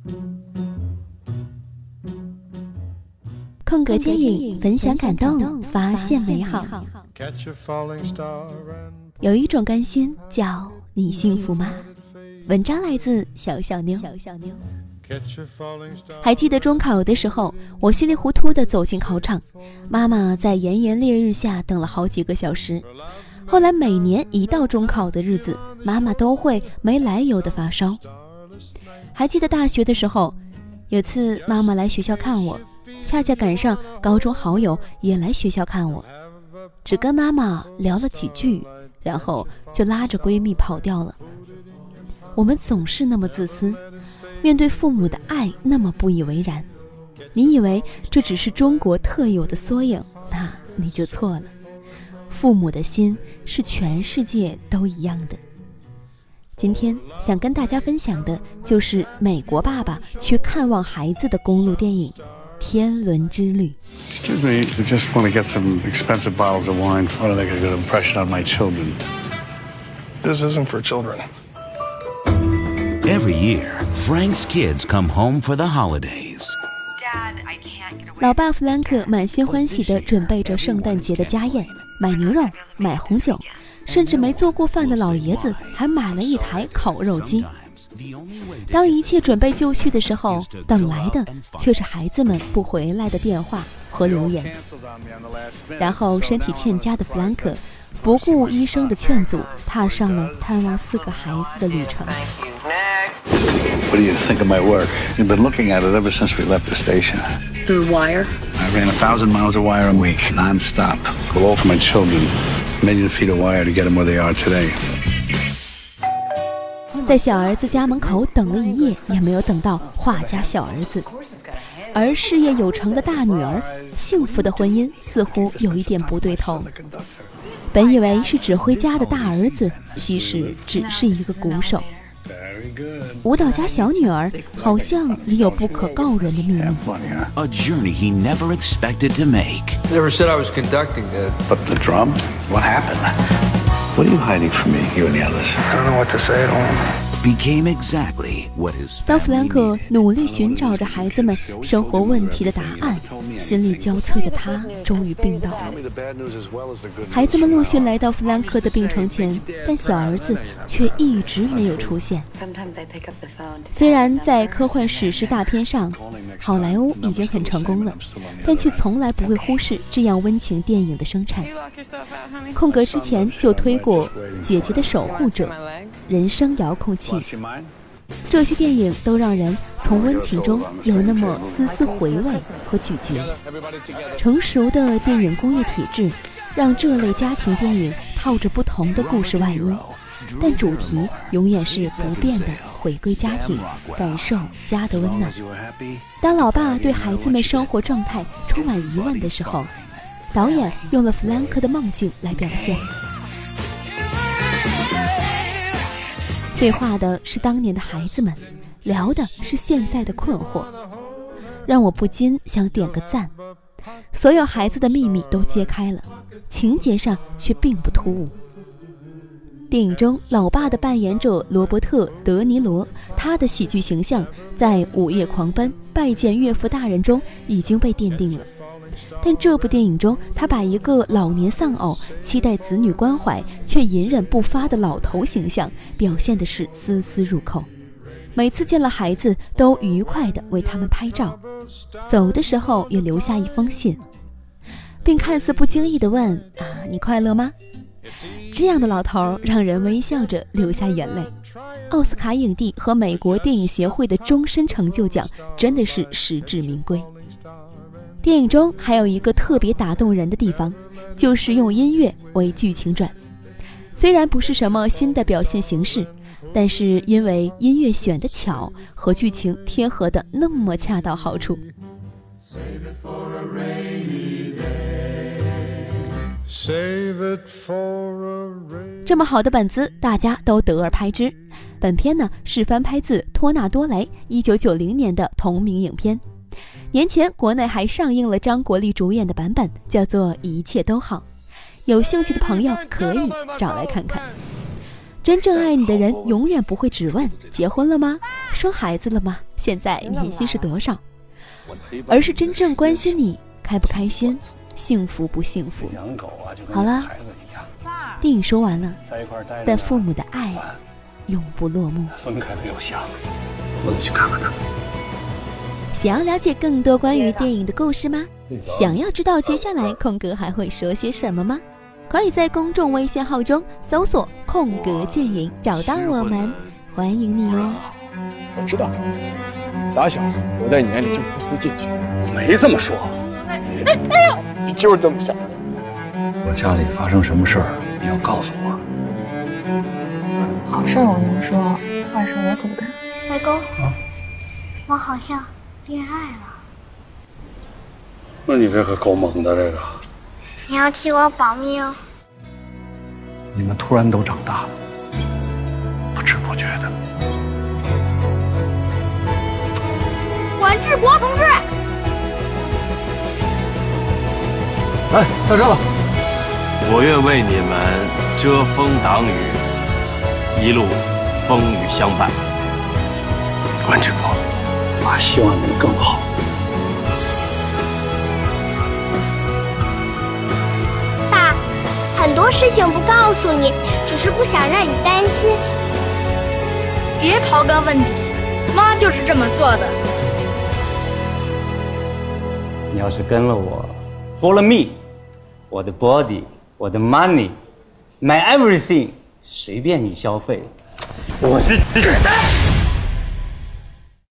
空格电影，分享感动，发现美好。有一种甘心叫你幸福吗？文章来自小小妞。还记得中考的时候，我稀里糊涂地走进考场，妈妈在炎炎烈日下等了好几个小时。后来每年一到中考的日子，妈妈都会没来由的发烧。还记得大学的时候，有次妈妈来学校看我，恰恰赶上高中好友也来学校看我，只跟妈妈聊了几句，然后就拉着闺蜜跑掉了。我们总是那么自私，面对父母的爱那么不以为然。你以为这只是中国特有的缩影，那你就错了。父母的心是全世界都一样的。今天想跟大家分享的就是美国爸爸去看望孩子的公路电影《天伦之旅》。 Excuse me, I just want to get some expensive bottles of wine. I want to make a good impression on my children. This isn't for children. Every year, Frank's kids come home for the holidays. Dad, I can't get away. 老爸弗兰克满心欢喜地准备着圣诞节的家宴，买牛肉，买红酒，甚至没做过饭的老爷子还买了一台烤肉机。当一切准备就绪的时候，等来的却是孩子们不回来的电话和留言。然后身体欠佳的弗兰克不顾医生的劝阻，踏上了探望4个孩子的旅程。 What do you think of my work? You've been looking at it ever since we left the station. Through wire? I ran 1,000 miles of wire a week, non-stop. All for my children. Million feet of wire to get them where they are today. 在小儿子家门口等了一夜，也没有等到画家小儿子。而事业有成的大女儿，幸福的婚姻似乎有一点不对头。本以为是指挥家的大儿子，其实只是一个鼓手。舞蹈家小女儿好像也有不可告人的秘密。 A journey he never expected to make. Never said I was conducting that. But the drum? What happened? What are you hiding from me, you and the others? I don't know what to say at all. Became exactly what his 当弗兰克努力寻找着孩子们生活问题的答案，心力交瘁的他终于病倒了。孩子们陆续来到弗兰克的病床前，但小儿子却一直没有出现。虽然在科幻史诗大片上，好莱坞已经很成功了，但却从来不会忽视这样温情电影的生产。空格之前就推过《姐姐的守护者》、人生遥控器，这些电影都让人从温情中有那么丝丝回味和咀嚼。成熟的电影工业体制让这类家庭电影套着不同的故事外衣，但主题永远是不变的，回归家庭，感受家的温暖。当老爸对孩子们生活状态充满疑问的时候，导演用了弗兰克的梦境来表现。对话的是当年的孩子们，聊的是现在的困惑，让我不禁想点个赞。所有孩子的秘密都揭开了，情节上却并不突兀。电影中老爸的扮演者罗伯特·德尼罗，他的喜剧形象在《午夜狂奔》拜见岳父大人中已经被奠定了。但这部电影中，他把一个老年丧偶、期待子女关怀却隐忍不发的老头形象表现的是丝丝入扣。每次见了孩子都愉快地为他们拍照，走的时候也留下一封信，并看似不经意地问：你快乐吗？这样的老头让人微笑着流下眼泪。奥斯卡影帝和美国电影协会的终身成就奖真的是实至名归。电影中还有一个特别打动人的地方，就是用音乐为剧情转。虽然不是什么新的表现形式，但是因为音乐选得巧，和剧情贴合的那么恰到好处。这么好的本子，大家都得而拍之。本片呢是翻拍自托纳多雷1990年的同名影片。年前国内还上映了张国立主演的版本，叫做《一切都好》，有兴趣的朋友可以找来看看。 真正爱你的人永远不会只问结婚了吗？生孩子了吗？现在年薪是多少？而是真正关心你开不开心，幸福不幸福。好了，电影说完了，但父母的爱永不落幕。 分开没有下文，我得去看看他。 想要了解更多关于电影的故事吗？想要知道接下来空格还会说些什么吗？可以在公众微信号中搜索空格电影找到我们，欢迎你哦。 我知道，打小我在你眼里就不思进取。 我没这么说。 你就是这么想的。 我家里发生什么事儿，你要告诉我。 好事我能说，坏事我可不敢。 外公，我好像恋爱了。 那你这可够猛的，这个。 你要替我保密哦。 你们突然都长大了，不知不觉的。 管志国同志， 来，下车吧。 我愿为你们遮风挡雨，一路风雨相伴。 关志国，我希望能更好。 爸，很多事情不告诉你，只是不想让你担心。 别刨根问底，妈就是这么做的。 你要是跟了我 ，follow me， 我的 body， 我的 money， my everything， 随便你消费。我是。